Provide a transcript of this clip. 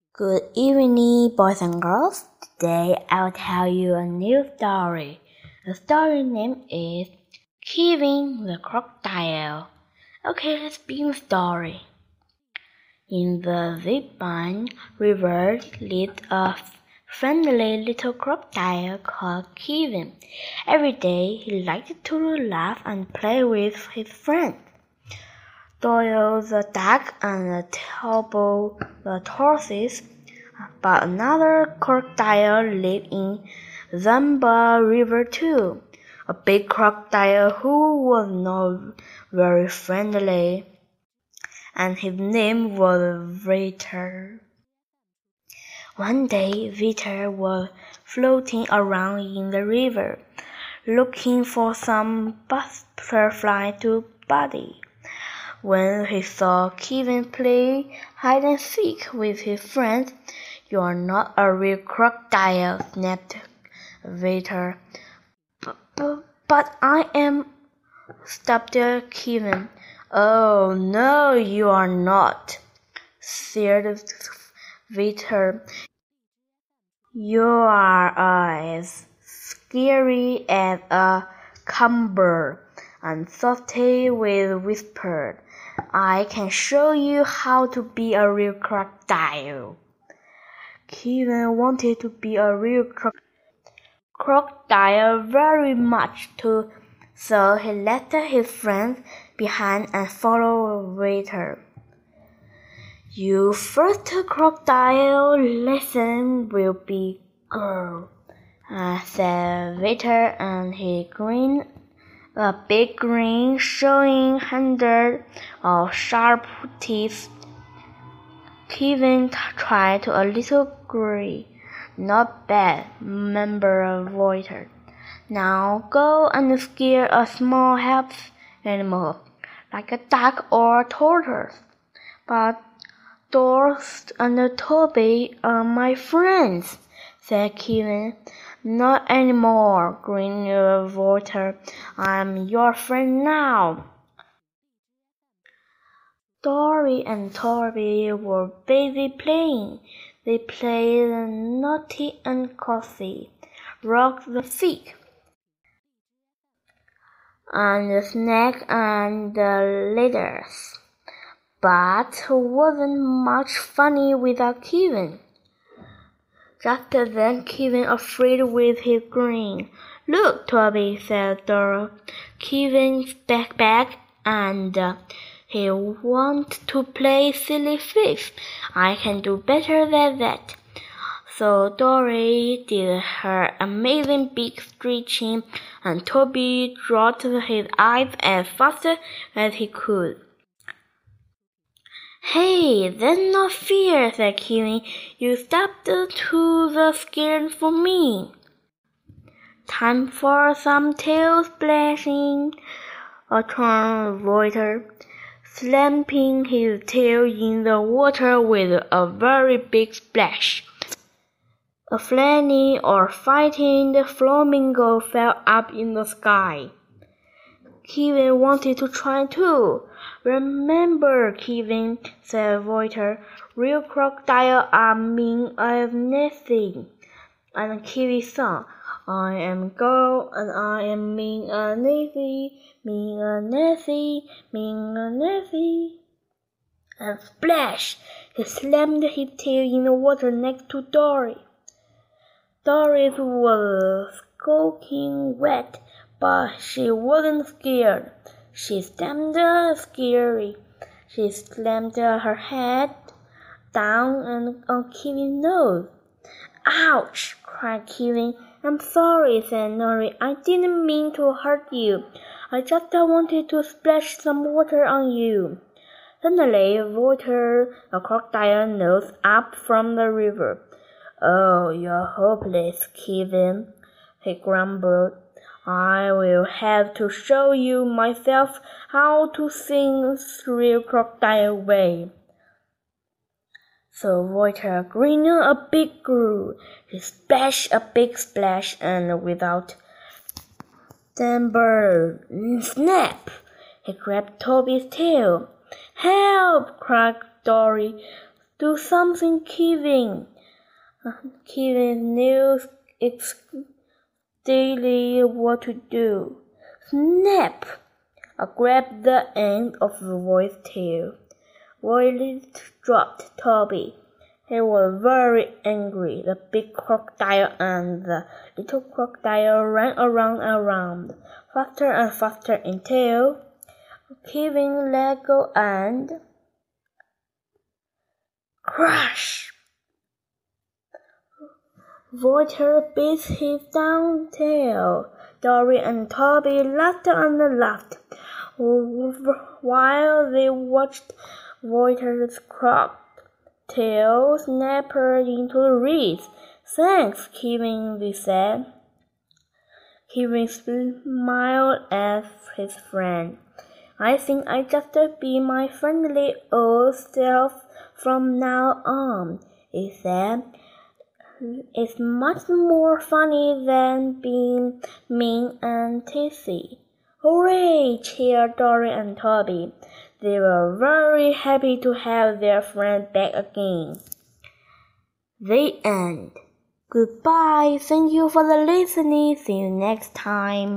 Good evening, boys and girls. Today I'll tell you a new story. The story name is Kevin the Crocodile. Okay, let's begin the story. In the Zipline River lived a friendly little crocodile called Kevin. Every day he liked to laugh and play with his friends. Doyle the duck and Tubbo the tortoise, but another crocodile lived in Zamba River too, a big crocodile who was not very friendly, and his name was Viter. One day Viter was floating around in the river, looking for some butterfly to buddy. When he saw Kevin play hide and seek with his friends, "You are not a real crocodile," snapped Viter. But I am," stopped Kevin. "Oh, no, you are not," said Viter. "You are as scary as a cucumber." And Softy whispered, "I can show you how to be a real crocodile." Kevin wanted to be a real crocodile very much too, so he left his friends behind and followed Viter. "Your first crocodile lesson will be girl," said Viter, and he grinned. A big grin showing hundreds of sharp teeth. Kevin tried a little grin. "Not bad," murmured Viter. "Now go and scare a small helpless animal, like a duck or a tortoise." "But Dorothy and Toby are my friends," said Kevin. "Not anymore," grinned Viter. "I'm your friend now." Dory and Toby were busy playing. They played naughty and cozy, rock the stick, and snake and ladders. But wasn't much funny without Kevin. Just then Kevin afraid with his grin. "Look, Toby," said Dora. "Kevin's back and he wants to play silly face. I can do better than that." So Dory did her amazing big stretching, and Toby dropped his eyes as fast as he could. "Hey, that's not fair," said Kevin. "You stopped to the scared for me." "Time for some tail splashing," returned Viter, slapping his tail in the water with a very big splash. A flying or fighting flamingo fell up in the sky. Kevin wanted to try too. "Remember, Kevin," said Viter, "real crocodiles are mean as nothing." And Kevin sang, "I am girl and I am mean as nothing, mean as nothing, mean as nothing." And splash! He slammed his tail in the water next to Dory. Dory was soaking wet, but she wasn't scared. She stamped scary. She slammed her head down and on Kevin's nose. "Ouch!" cried Kevin. "I'm sorry," said Dory. "I didn't mean to hurt you. I just wanted to splash some water on you." Suddenly, Viter, a crocodile, nosed up from the river. "Oh, you're hopeless, Kevin," he grumbled. "I will have to show you myself how to sing real crocodile way." So Viter grinned a big grin. He splashed a big splash, and without timber, snap! He grabbed Toby's tail. "Help!" cried Dory. Do something, Kevin. Kevin knew exactly what to do. Snap! I grabbed the end of the voice's tail. Violet dropped Toby. He was very angry. The big crocodile and the little crocodile ran around, faster and faster until Kevin let go and crash! Walter bit his down tail. Dory and Toby laughed and laughed while they watched Walter's tail snap into the reeds. Thanks, Kevin, they said. Kevin smiled at his friend. I think I just be my friendly old self from now on, he said. It's much more funny than being mean and teasy. Hooray! Cheered Dory and Toby. They were very happy to have their friend back again. The end. Goodbye. Thank you for the listening. See you next time.